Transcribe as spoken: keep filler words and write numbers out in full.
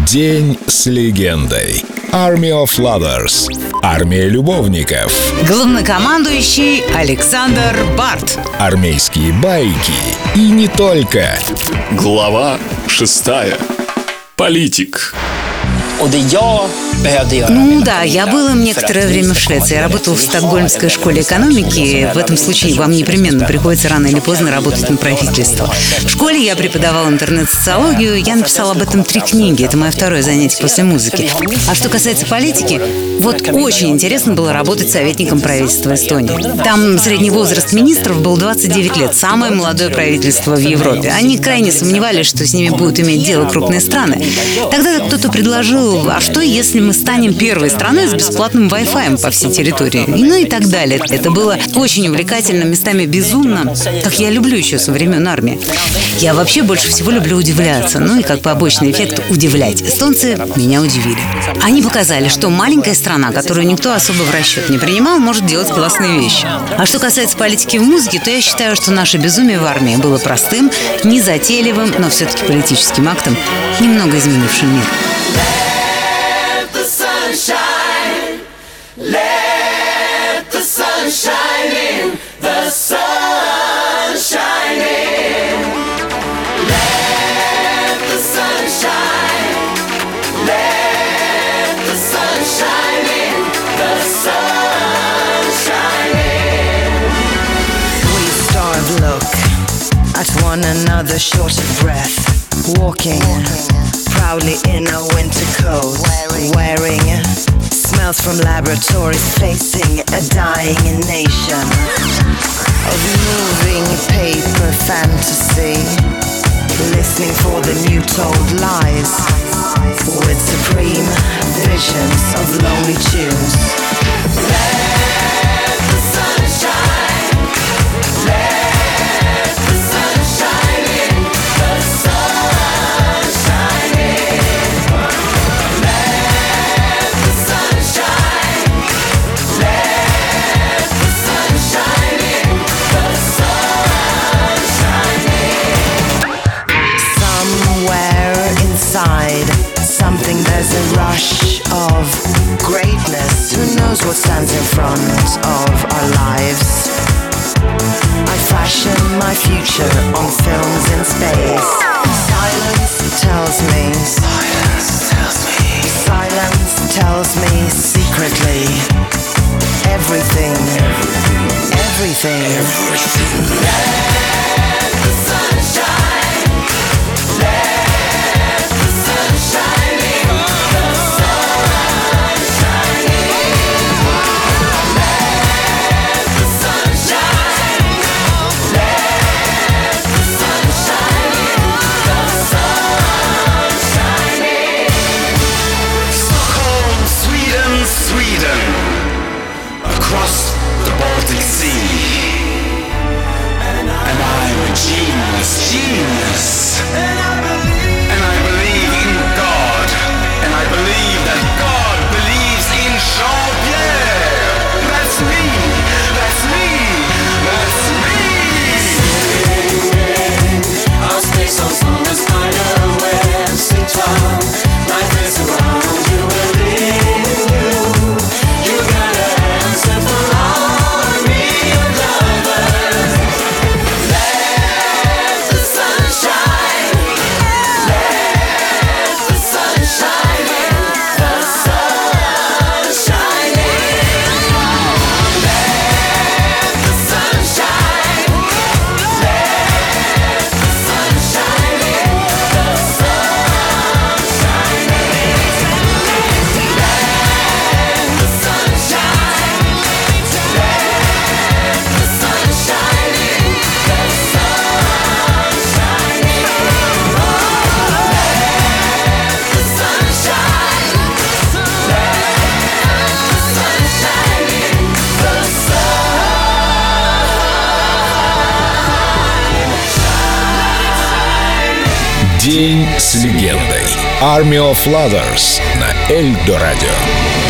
День с легендой. Army of Lovers. Армия любовников. Главнокомандующий Александр Барт. Армейские байки. И не только. Глава шестая. Политик. Ну да, я был им некоторое время в Швеции. Я работал в Стокгольмской школе экономики. В этом случае вам непременно приходится рано или поздно работать на правительство. В школе я преподавал интернет-социологию. Я написал об этом три книги. Это мое второе занятие после музыки. А что касается политики, вот очень интересно было работать советником правительства Эстонии. Там средний возраст министров был двадцать девять лет. Самое молодое правительство в Европе. Они крайне сомневались, что с ними будут иметь дело крупные страны. Тогда кто-то предложил: а что, если мы станем первой страной с бесплатным Wi-Fi по всей территории? И ну и так далее. Это было очень увлекательно, местами безумно, как я люблю еще со времен армии. Я вообще больше всего люблю удивляться. Ну и как побочный эффект удивлять. Эстонцы меня удивили. Они показали, что маленькая страна, которую никто особо в расчет не принимал, может делать классные вещи. А что касается политики в музыке, то я считаю, что наше безумие в армии было простым, незатейливым, но все-таки политическим актом, немного изменившим мир. Shine, let the sun shine in, the sun shine in. Let the sun shine, let the sun shine in, the sun shine in. We starve, look at one another short of breath, walking proudly in a winter coat, wearing smells from laboratories, facing a dying nation of moving paper fantasy, listening for the new told lies, with supreme visions of lonely tunes. Let the sun shine, let the sun shine in, the sun shine in. Let the sun shine, let the sun shine in, the sun shine in. Somewhere inside something, there's a rush of greatness. Who knows what stands in front of our lives? I fashion my future on films in space. Silence tells me, silence tells me, silence tells me secretly everything, everything, everything. Let the sun shine, let the sun shine in, the sun shine in. Let the sun shine, let the sun shine in, the sun shine in. Stockholm, Sweden, Sweden, across the Baltic Sea. And I'm a genius, genius. And I believe in God. And I believe that God believes in Jean-Pierre. That's me, that's me, that's me. Our space on the spider web, sit down, life is around you, within you. You got an answer for army of lovers. Let the sun shine, let the sun shine in, the sun shine in. Let the sun shine, let the sun shine in, the sun shine in. Let the sun shine, let the sun shine in, the sun shine in. Let the sun shine, let the sun shine in, the sun. День с легендой. Army of Lovers на Эльдо Радио.